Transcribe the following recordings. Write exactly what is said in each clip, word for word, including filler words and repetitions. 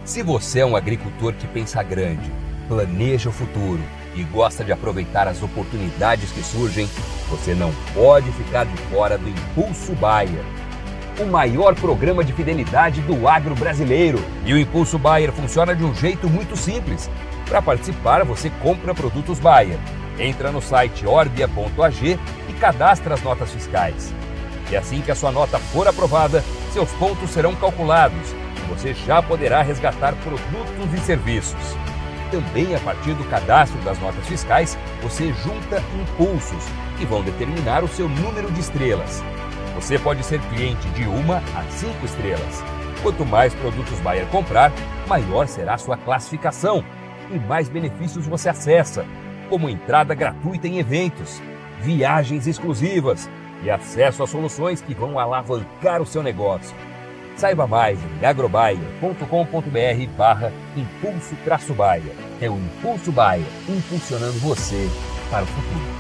Se você é um agricultor que pensa grande, planeja o futuro e gosta de aproveitar as oportunidades que surgem, você não pode ficar de fora do Impulso Bayer, o maior programa de fidelidade do agro brasileiro. E o Impulso Bayer funciona de um jeito muito simples. Para participar, você compra produtos Bayer, entra no site orbia ponto a g e cadastra as notas fiscais. E assim que a sua nota for aprovada, seus pontos serão calculados e você já poderá resgatar produtos e serviços. Também, a partir do cadastro das notas fiscais, você junta impulsos, que vão determinar o seu número de estrelas. Você pode ser cliente de uma a cinco estrelas. Quanto mais produtos Bayer comprar, maior será a sua classificação e mais benefícios você acessa, como entrada gratuita em eventos, viagens exclusivas e acesso a soluções que vão alavancar o seu negócio. Saiba mais em agrobayer ponto com ponto br barra impulso traço Bayer. É o Impulso Bayer, impulsionando você para o futuro.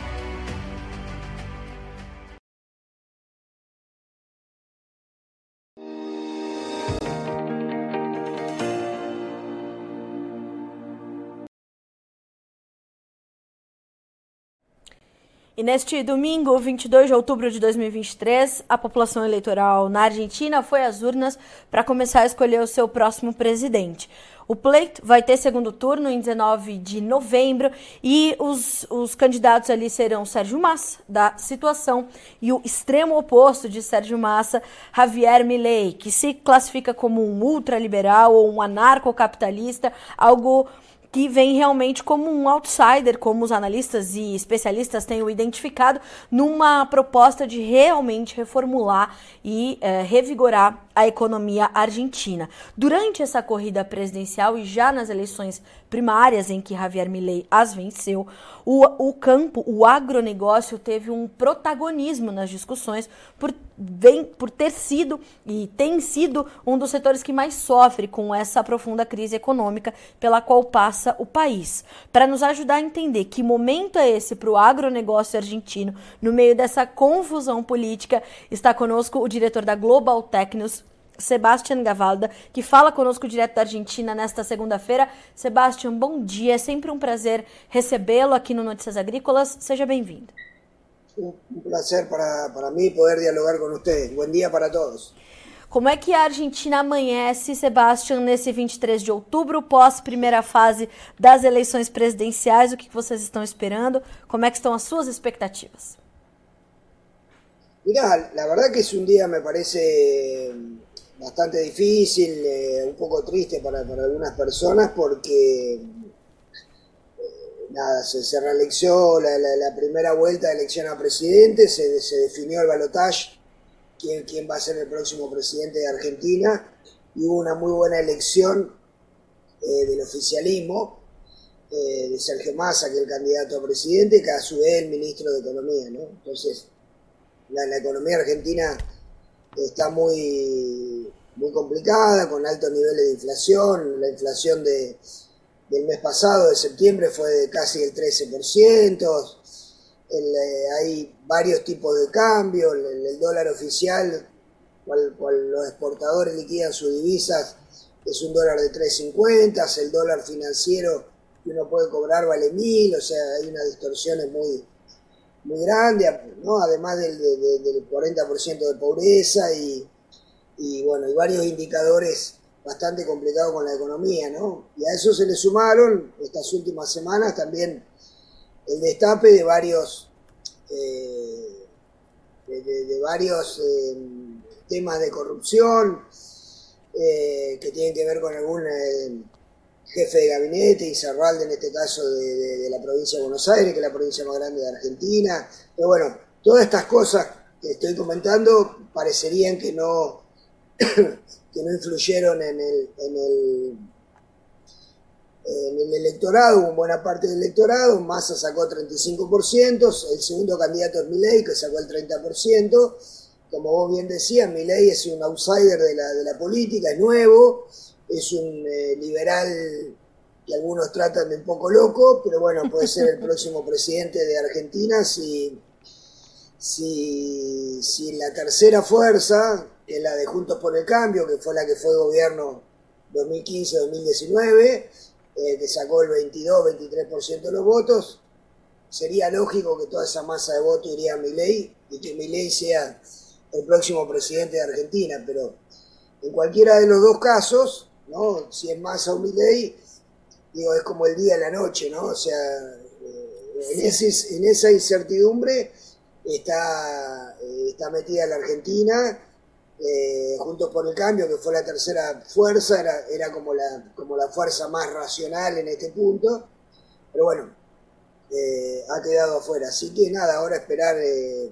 E neste domingo, vinte e dois de outubro de dois mil e vinte e três, a população eleitoral na Argentina foi às urnas para começar a escolher o seu próximo presidente. O pleito vai ter segundo turno em dezenove de novembro e os, os candidatos ali serão Sérgio Massa, da Situação, e o extremo oposto de Sérgio Massa, Javier Milei, que se classifica como um ultraliberal ou um anarcocapitalista, algo que vem realmente como um outsider, como os analistas e especialistas têm o identificado, numa proposta de realmente reformular e é, revigorar a economia argentina. Durante essa corrida presidencial e já nas eleições primárias em que Javier Milei as venceu, o, o campo, o agronegócio teve um protagonismo nas discussões por, vem, por ter sido e tem sido um dos setores que mais sofre com essa profunda crise econômica pela qual passa o país. Para nos ajudar a entender que momento é esse para o agronegócio argentino, no meio dessa confusão política, está conosco o diretor da Global Tech News, Sebastián Gavalda, que fala conosco direto da Argentina nesta segunda-feira. Sebastián, bom dia, é sempre um prazer recebê-lo aqui no Notícias Agrícolas, seja bem-vindo. Um prazer para, para mim poder dialogar com vocês. Bom dia para todos. Como é que a Argentina amanhece, Sebastián, nesse vinte e três de outubro, pós primeira fase das eleições presidenciais? O que vocês estão esperando? Como é que estão as suas expectativas? Mira, la verdad que es un día, me parece bastante difícil, eh, un poco triste para, para algunas personas porque eh, nada, se, se reelecció la, la, la primera vuelta de elección a presidente, se, se definió el balotaje, quién, quién va a ser el próximo presidente de Argentina, y hubo una muy buena elección eh, del oficialismo, eh, de Sergio Massa, que es el candidato a presidente, que a su vez el ministro de Economía, ¿no? Entonces, la, la economía argentina está muy, muy complicada, con altos niveles de inflación. La inflación de, del mes pasado, de septiembre, fue de casi el trece por ciento. El, eh, hay varios tipos de cambio. El, el dólar oficial, cual, cual los exportadores liquidan sus divisas, es un dólar de tres cincuenta. El dólar financiero que uno puede cobrar vale mil. O sea, hay unas distorsiones muy... muy grande, ¿no? Además del, del, del cuarenta por ciento de pobreza y, y, bueno, y varios indicadores bastante complicados con la economía, ¿no? Y a eso se le sumaron estas últimas semanas también el destape de varios, eh, de, de, de varios eh, temas de corrupción eh, que tienen que ver con algún... Eh, jefe de gabinete, Izarralde en este caso de, de, de la provincia de Buenos Aires, que es la provincia más grande de Argentina. Pero bueno, todas estas cosas que estoy comentando parecerían que no, que no influyeron en el, en, el, en el electorado, hubo buena parte del electorado. Massa sacó treinta y cinco por ciento, el segundo candidato es Milei, que sacó el treinta por ciento. Como vos bien decías, Milei es un outsider de la, de la política, es nuevo, es un eh, liberal que algunos tratan de un poco loco, pero bueno, puede ser el próximo presidente de Argentina si, si, si la tercera fuerza, que es la de Juntos por el Cambio, que fue la que fue gobierno dos mil quince dos mil diecinueve, eh, que sacó el veintidós veintitrés por ciento de los votos. Sería lógico que toda esa masa de votos iría a Milei y que Milei sea el próximo presidente de Argentina, pero en cualquiera de los dos casos, ¿no? Si es Massa o Milei, digo, es como el día y la noche, ¿no? O sea, eh, en, ese, en esa incertidumbre está, eh, está metida la Argentina. Eh, Juntos por el Cambio, que fue la tercera fuerza, era, era como, la, como la fuerza más racional en este punto, pero bueno, eh, ha quedado afuera. Así que nada, ahora esperar eh,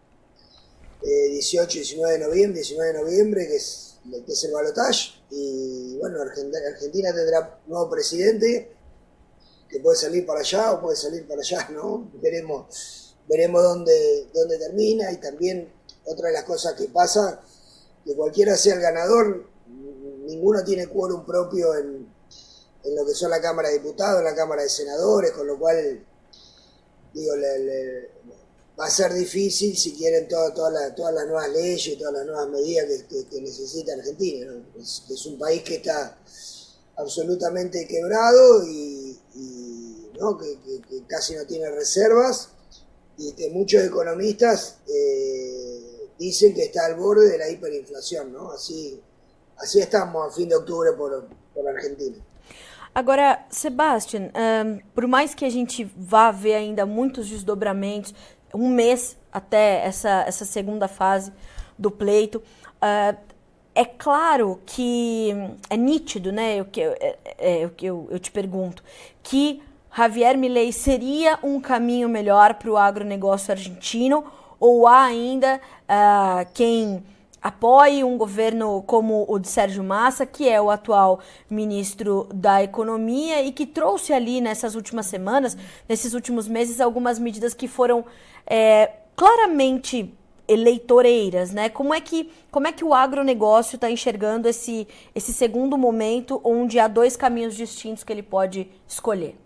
eh, dieciocho, diecinueve de noviembre, diecinueve de noviembre, que es, que es el balotaje, y bueno, Argentina, Argentina tendrá nuevo presidente, que puede salir para allá o puede salir para allá, ¿no? Veremos, veremos dónde, dónde termina. Y también otra de las cosas que pasa, que cualquiera sea el ganador, ninguno tiene quórum propio en, en lo que son la Cámara de Diputados, la Cámara de Senadores, con lo cual, digo, le, le, va a ser difícil si quieren toda, toda la, todas las nuevas leyes y todas las nuevas medidas que, que, que necesita Argentina, ¿no? Es, es un país que está absolutamente quebrado y, y ¿no? que, que, que casi no tiene reservas, y que muchos economistas eh, dicen que está al borde de la hiperinflação, ¿no? Así, assim estamos a fim de outubro por, por Argentina. Agora, Sebastian, um, por mais que a gente vá ver ainda muitos desdobramentos, um mês até essa, essa segunda fase do pleito, uh, é claro que é nítido, né? O que é, é, o que eu, eu te pergunto, que Javier Milei seria um caminho melhor para o agronegócio argentino, ou há ainda uh, quem apoie um governo como o de Sérgio Massa, que é o atual ministro da Economia e que trouxe ali nessas últimas semanas, nesses últimos meses, algumas medidas que foram é, claramente eleitoreiras, né? Como é que, como é que o agronegócio está enxergando esse, esse segundo momento onde há dois caminhos distintos que ele pode escolher?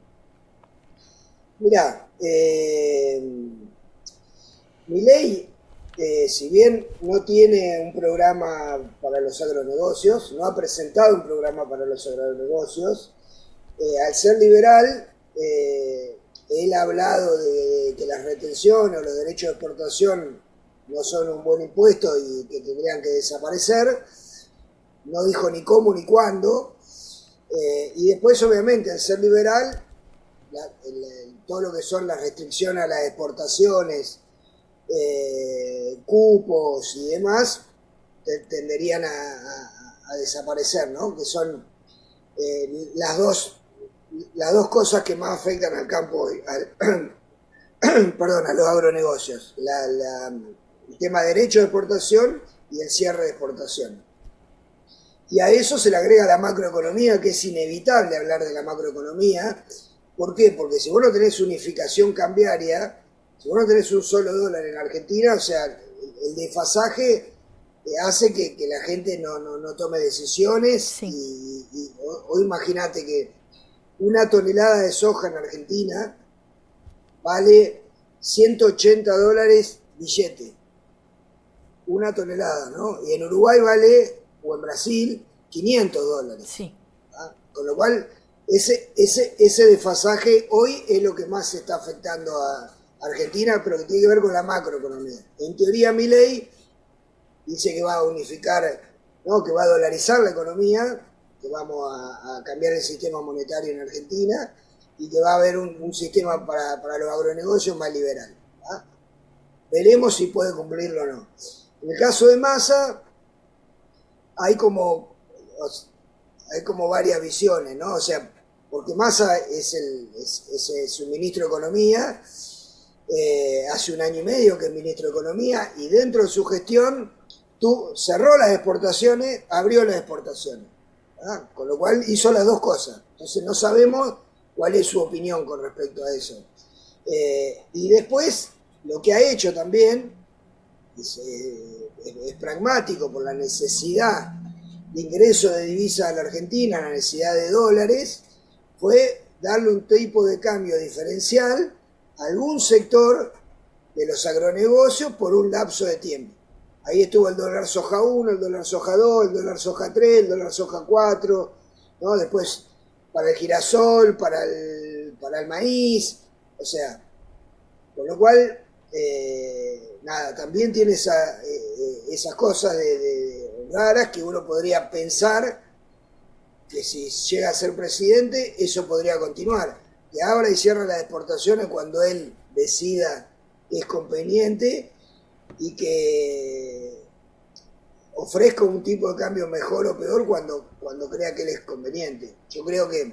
Mirá, eh... Milei, eh, si bien no tiene un programa para los agronegocios, no ha presentado un programa para los agronegocios, eh, al ser liberal, eh, él ha hablado de que las retenciones o los derechos de exportación no son un buen impuesto y que tendrían que desaparecer. No dijo ni cómo ni cuándo. Eh, y después, obviamente, al ser liberal, la, el, todo lo que son las restricciones a las exportaciones, Eh, cupos y demás, te, tenderían a, a, a desaparecer, ¿no? Que son eh, las dos las dos cosas que más afectan al campo, al, perdón, a los agronegocios, la, la, el tema de derecho de exportación y el cierre de exportación. Y a eso se le agrega la macroeconomía, que es inevitable hablar de la macroeconomía. ¿Por qué? Porque si vos no tenés unificación cambiaria, si vos no tenés un solo dólar en Argentina, o sea, el desfasaje hace que, que la gente no, no, no tome decisiones. Sí. Y, y o, o imagínate que una tonelada de soja en Argentina vale ciento ochenta dólares billete. Una tonelada, ¿no? Y en Uruguay vale, o en Brasil, quinientos dólares. Sí. ¿Ah? Con lo cual, ese, ese, ese desfasaje hoy es lo que más se está afectando a Argentina, pero que tiene que ver con la macroeconomía. En teoría, Milei dice que va a unificar, ¿no? Que va a dolarizar la economía, que vamos a, a cambiar el sistema monetario en Argentina y que va a haber un, un sistema para, para los agronegocios más liberal. ¿Ah? Veremos si puede cumplirlo o no. En el caso de Massa, hay como, hay como varias visiones, ¿no? O sea, porque Massa es, el, es, es, es un ministro de Economía. Eh, hace un año y medio que es ministro de Economía, y dentro de su gestión tú cerró las exportaciones, abrió las exportaciones, ¿verdad? Con lo cual hizo las dos cosas. Entonces no sabemos cuál es su opinión con respecto a eso. Eh, y después lo que ha hecho también es, eh, es, es pragmático por la necesidad de ingreso de divisas a la Argentina, la necesidad de dólares, fue darle un tipo de cambio diferencial algún sector de los agronegocios por un lapso de tiempo. Ahí estuvo el dólar soja uno, el dólar soja dos, el dólar soja tres, el dólar soja cuatro, ¿no? Después para el girasol, para el, para el maíz, o sea, con lo cual, eh, nada, también tiene esa, eh, esas cosas de, de raras que uno podría pensar que si llega a ser presidente, eso podría continuar. Que abra y cierre las exportaciones cuando él decida que es conveniente y que ofrezca un tipo de cambio mejor o peor cuando, cuando crea que él es conveniente. Yo creo que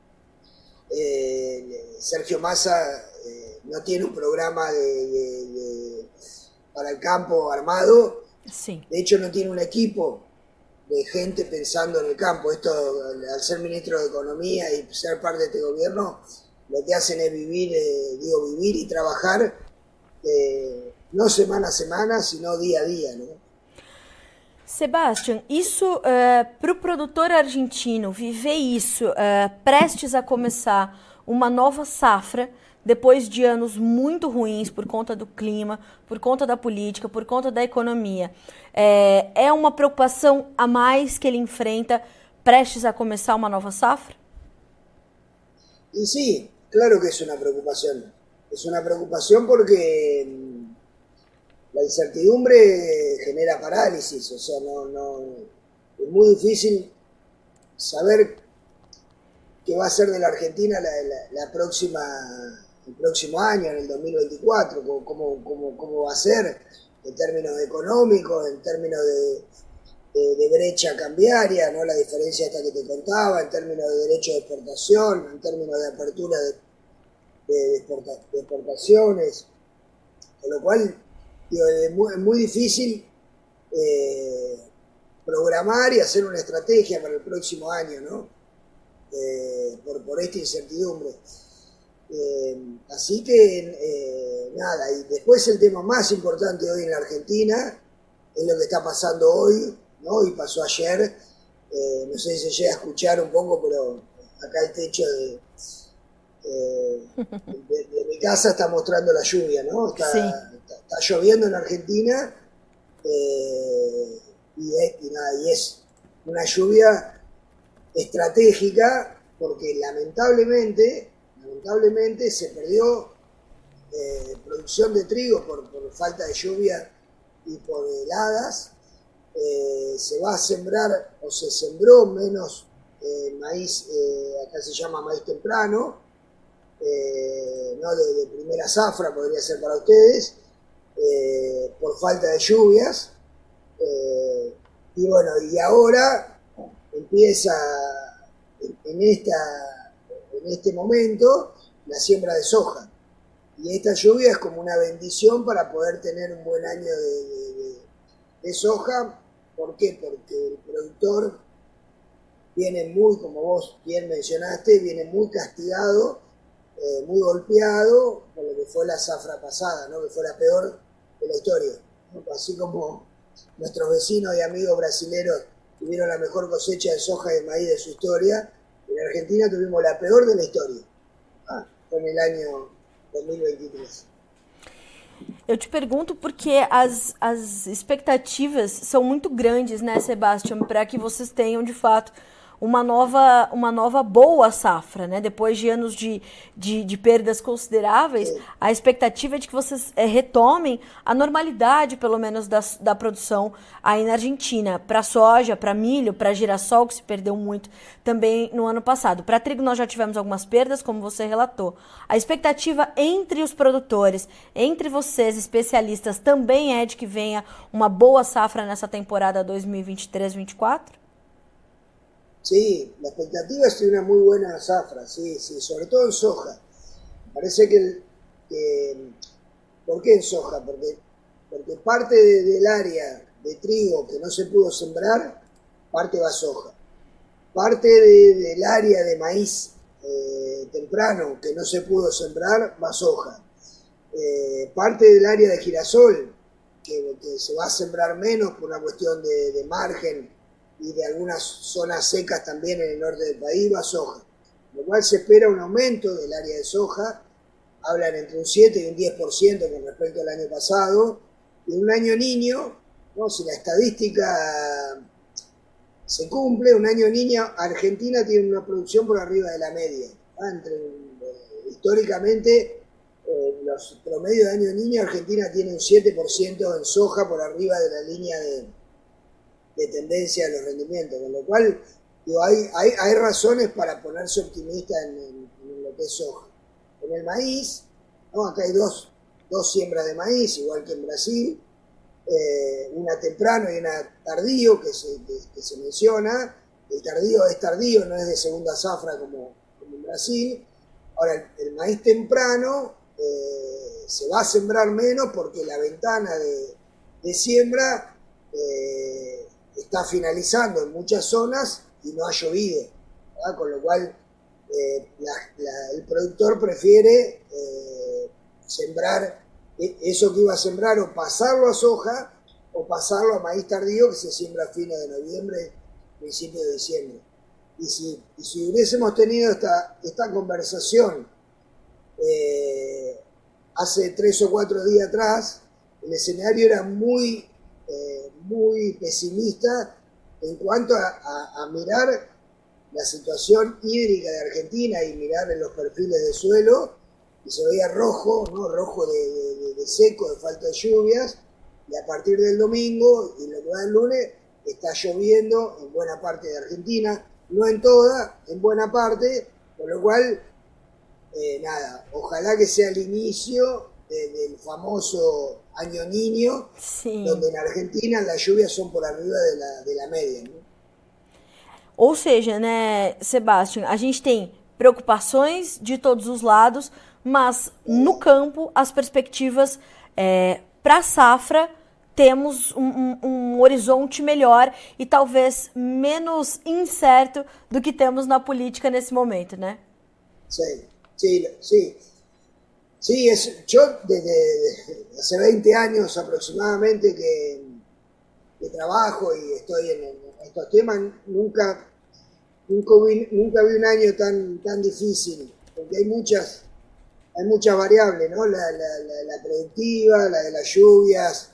eh, Sergio Massa eh, no tiene un programa de, de, de, para el campo armado. Sí. De hecho, no tiene un equipo de gente pensando en el campo. Esto, al ser ministro de Economía y ser parte de este gobierno, lo que hacen es vivir, eh, digo, vivir y trabajar, eh, no semana a semana, sino día a día, ¿no? Sebastian, isso uh, para o produtor argentino viver isso, uh, prestes a começar uma nova safra, depois de anos muito ruins por conta do clima, por conta da política, por conta da economia, é, é uma preocupação a mais que ele enfrenta prestes a começar uma nova safra? Y sí, claro que es una preocupación. Es una preocupación porque la incertidumbre genera parálisis, o sea, no, no, es muy difícil saber qué va a ser de la Argentina la, la, la próxima, el próximo año, en el dos mil veinticuatro, cómo, cómo, cómo va a ser en términos económicos, en términos de, de, de brecha cambiaria, ¿no? La diferencia esta que te contaba, en términos de derecho de exportación, en términos de apertura de, de, exporta, de exportaciones, con lo cual digo, es, muy, es muy difícil eh, programar y hacer una estrategia para el próximo año, ¿no? Eh, por, por esta incertidumbre. Eh, así que, eh, nada, y después el tema más importante hoy en la Argentina es lo que está pasando hoy, ¿no? Y pasó ayer, eh, no sé si se llega a escuchar un poco, pero acá el techo de, eh, de, de mi casa está mostrando la lluvia, ¿no? Está, sí. está, está lloviendo en Argentina eh, y, es, y, nada, y es una lluvia estratégica porque lamentablemente, lamentablemente se perdió eh, producción de trigo por, por falta de lluvia y por heladas. Eh, se va a sembrar o se sembró menos eh, maíz, eh, acá se llama maíz temprano, eh, no de, de primera zafra podría ser para ustedes, eh, por falta de lluvias. Eh, y bueno, y ahora empieza en, en, esta, en este momento la siembra de soja. Y esta lluvia es como una bendición para poder tener un buen año de, de, de, de soja. ¿Por qué? Porque el productor viene muy, como vos bien mencionaste, viene muy castigado, eh, muy golpeado por lo que fue la zafra pasada, ¿no? Que fue la peor de la historia, ¿no? Así como nuestros vecinos y amigos brasileños tuvieron la mejor cosecha de soja y de maíz de su historia, en Argentina tuvimos la peor de la historia, ah, fue en el año dos mil veintitrés. Eu te pergunto porque as, as expectativas são muito grandes, né, Sebastian, para que vocês tenham, de fato, uma nova, uma nova boa safra, né? Depois de anos de, de, de perdas consideráveis, a expectativa é de que vocês é, retomem a normalidade, pelo menos, da, da produção aí na Argentina, para soja, para milho, para girassol, que se perdeu muito também no ano passado. Para trigo nós já tivemos algumas perdas, como você relatou. A expectativa entre os produtores, entre vocês, especialistas, também é de que venha uma boa safra nessa temporada dois mil e vinte e três, vinte e quatro? Sí, la expectativa es de una muy buena zafra, sí, sí, sobre todo en soja. Parece que, que ¿por qué en soja? Porque, porque parte de, del área de trigo que no se pudo sembrar, parte va a soja. Parte de, del área de maíz eh, temprano que no se pudo sembrar, va a soja. Eh, parte del área de girasol, que, que se va a sembrar menos por una cuestión de, de margen, y de algunas zonas secas también en el norte del país, va soja. Lo cual se espera un aumento del área de soja, hablan entre un siete y un diez por ciento con respecto al año pasado, y un año niño, ¿no? Si la estadística se cumple, un año niño, Argentina tiene una producción por arriba de la media. ¿Ah? Entre, eh, históricamente, eh, los promedios de año niño, Argentina tiene un siete por ciento en soja por arriba de la línea de, de tendencia de los rendimientos, con lo cual digo, hay, hay, hay razones para ponerse optimista en, en, en lo que es soja. En el maíz, ¿no? Acá hay dos, dos siembras de maíz, igual que en Brasil, eh, una temprano y una tardío que se, que, que se menciona. El tardío es tardío, no es de segunda zafra como, como en Brasil. Ahora, el, el maíz temprano eh, se va a sembrar menos porque la ventana de, de siembra eh, está finalizando en muchas zonas y no ha llovido, ¿verdad? Con lo cual eh, la, la, el productor prefiere eh, sembrar eso que iba a sembrar, o pasarlo a soja o pasarlo a maíz tardío que se siembra a fines de noviembre, principio de diciembre. Y si, y si hubiésemos tenido esta, esta conversación eh, hace tres o cuatro días atrás, el escenario era muy, eh, muy pesimista en cuanto a, a, a mirar la situación hídrica de Argentina y mirar en los perfiles de suelo, y se veía rojo, ¿no? Rojo de, de, de seco, de falta de lluvias, y a partir del domingo y lo que va del lunes está lloviendo en buena parte de Argentina, no en toda, en buena parte, con lo cual, eh, nada, ojalá que sea el inicio de, del famoso año niño, sí, donde en Argentina las lluvias son por arriba de la, de la media, né? Ou seja, né, Sebastião, a gente tem preocupações de todos os lados, mas no campo as perspectivas é, para a safra temos um, um, um horizonte melhor e talvez menos incerto do que temos na política nesse momento, né? Sim, sim, sim. Sí, es, yo desde hace veinte años aproximadamente que, que trabajo y estoy en, en estos temas, nunca, nunca, vi, nunca vi un año tan, tan difícil, porque hay muchas, hay muchas variables, ¿no? La, la, la, la predictiva, la de las lluvias,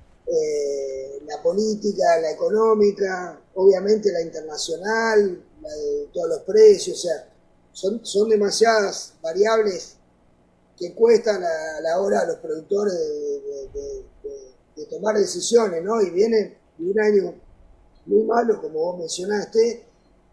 eh, la política, la económica, obviamente la internacional, la de todos los precios, o sea, son, son demasiadas variables que cuestan a la hora a los productores de, de, de, de, de tomar decisiones, ¿no? Y viene de un año muy malo, como vos mencionaste,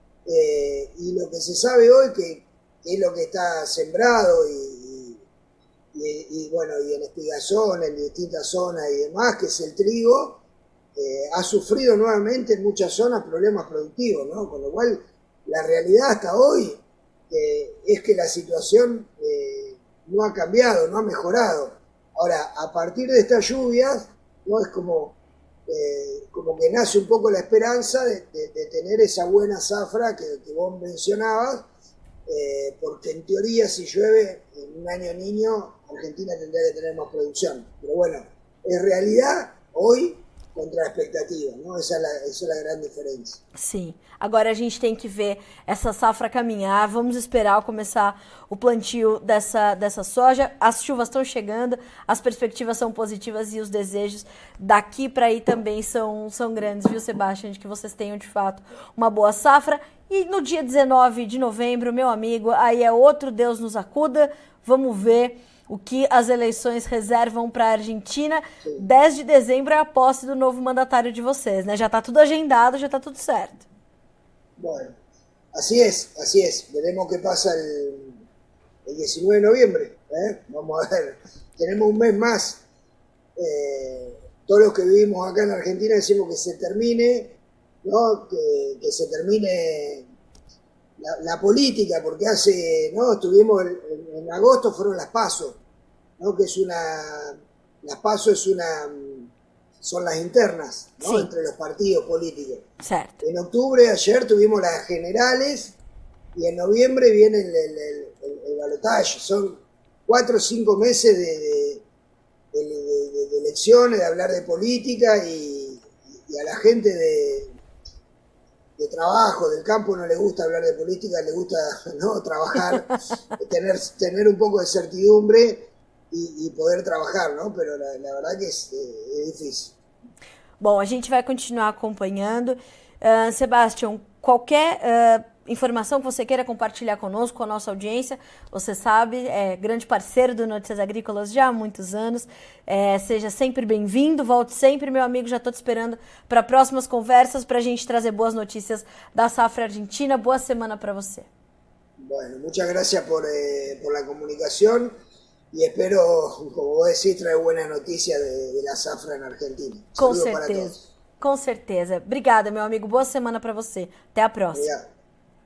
eh, y lo que se sabe hoy, que, que es lo que está sembrado y, y, y, y bueno, y en espigazón, en distintas zonas y demás, que es el trigo, eh, ha sufrido nuevamente en muchas zonas problemas productivos, ¿no? Con lo cual, la realidad hasta hoy eh, es que la situación eh, no ha cambiado, no ha mejorado. Ahora, a partir de estas lluvias, ¿no? Es como, eh, como que nace un poco la esperanza de, de, de tener esa buena zafra que, que vos mencionabas, eh, porque en teoría si llueve en un año niño, Argentina tendría que tener más producción. Pero bueno, en realidad, hoy, contra a expectativa, não? Essa é, a, essa é a grande diferença. Sim, agora a gente tem que ver essa safra caminhar, vamos esperar começar o plantio dessa, dessa soja, as chuvas estão chegando, as perspectivas são positivas e os desejos daqui para aí também são, são grandes, viu, Sebastião, de que vocês tenham de fato uma boa safra. E no dia dezenove de novembro, meu amigo, aí é outro Deus nos acuda, vamos ver o que as eleições reservam para a Argentina. Sim. dez de dezembro é a posse do novo mandatário de vocês, né? Já está tudo agendado, já está tudo certo. Bueno, así es, así es. Veremos qué pasa el, el diecinueve de noviembre. ¿eh? Vamos a ver, tenemos un mes más. Eh, todos los que vivimos acá en Argentina decimos que se termine, ¿no? que, que se termine la, la política, porque hace, ¿no? Estuvimos en, en agosto, fueron las PASO, ¿no? Que es una, las PASO es una, son las internas, ¿no? Sí. Entre los partidos políticos. Certo. En octubre, ayer tuvimos las generales y en noviembre viene el, el, el, el, el balotaje. Son cuatro o cinco meses de, de, de, de, de elecciones, de hablar de política y, y a la gente de, de trabajo, del campo no le gusta hablar de política, le gusta, ¿no? Trabajar, tener, tener un poco de certidumbre y, y poder trabajar, ¿no? Pero la, la verdad que es, es difícil. Bom, a gente vai continuar acompanhando. Uh, Sebastião, qualquer uh, informação que você queira compartilhar conosco, com a nossa audiência, você sabe, é grande parceiro do Notícias Agrícolas já há muitos anos, é, seja sempre bem-vindo, volte sempre, meu amigo, já estou te esperando para próximas conversas, para a gente trazer boas notícias da safra argentina. Boa semana para você. Bueno, muchas gracias por, eh, por la comunicación y espero, como vos decís, traer buenas noticias de, de la safra en Argentina. Com Saludos para certeza, todos. com certeza. Obrigada, meu amigo, boa semana para você. Até a próxima. Obrigado.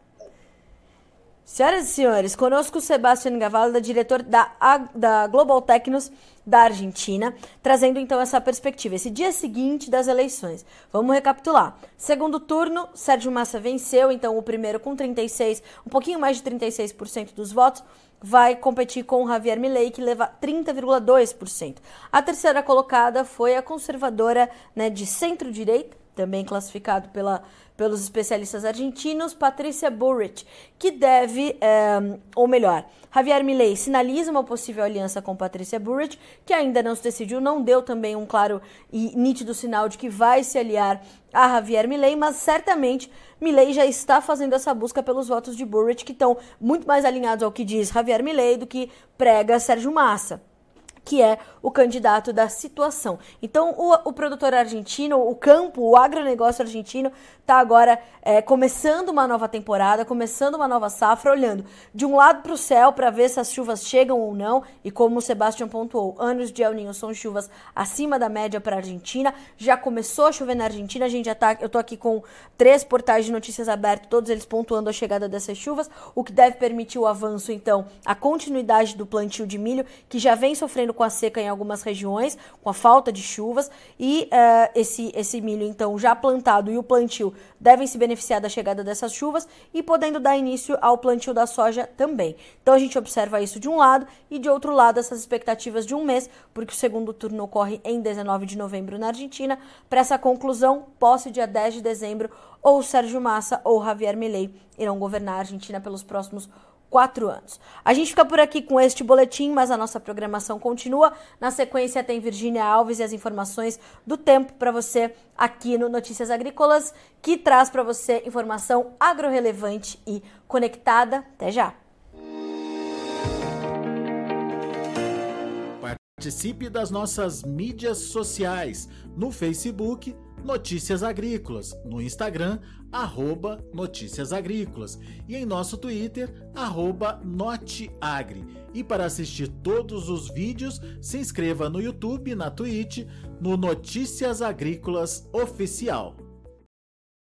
Senhoras e senhores, conosco o Sebastián Gavalda, diretor da, da Global Tecnos da Argentina, trazendo então essa perspectiva, esse dia seguinte das eleições. Vamos recapitular. Segundo turno, Sérgio Massa venceu, então o primeiro com trinta e seis por cento, um pouquinho mais de trinta e seis por cento dos votos, vai competir com o Javier Milei, que leva trinta vírgula dois por cento. A terceira colocada foi a conservadora, né, de centro-direita, também classificado pela, pelos especialistas argentinos, Patricia Bullrich, que deve, é, ou melhor, Javier Milei sinaliza uma possível aliança com Patricia Bullrich, que ainda não se decidiu, não deu também um claro e nítido sinal de que vai se aliar a Javier Milei, mas certamente Milei já está fazendo essa busca pelos votos de Bullrich, que estão muito mais alinhados ao que diz Javier Milei do que prega Sérgio Massa, que é o candidato da situação. Então, o, o produtor argentino, o campo, o agronegócio argentino está agora é, começando uma nova temporada, começando uma nova safra, olhando de um lado para o céu para ver se as chuvas chegam ou não, e como o Sebastião pontuou, anos de El Niño são chuvas acima da média para a Argentina, já começou a chover na Argentina, a gente já tá, eu estou aqui com três portais de notícias abertos, todos eles pontuando a chegada dessas chuvas, o que deve permitir o avanço, então, a continuidade do plantio de milho, que já vem sofrendo com a seca em algumas regiões, com a falta de chuvas, e uh, esse, esse milho, então, já plantado e o plantio devem se beneficiar da chegada dessas chuvas e podendo dar início ao plantio da soja também. Então, a gente observa isso de um lado e, de outro lado, essas expectativas de um mês, porque o segundo turno ocorre em dezenove de novembro na Argentina. Para essa conclusão, posse dia dez de dezembro, ou Sérgio Massa ou Javier Milei irão governar a Argentina pelos próximos quatro anos. A gente fica por aqui com este boletim, mas a nossa programação continua. Na sequência tem Virgínia Alves e as informações do tempo para você aqui no Notícias Agrícolas, que traz para você informação agrorrelevante e conectada. Até já! Participe das nossas mídias sociais, no Facebook, Notícias Agrícolas, no Instagram, arroba Notícias Agrícolas e em nosso Twitter, arroba Noteagri. E para assistir todos os vídeos, se inscreva no YouTube, na Twitch, no Notícias Agrícolas Oficial.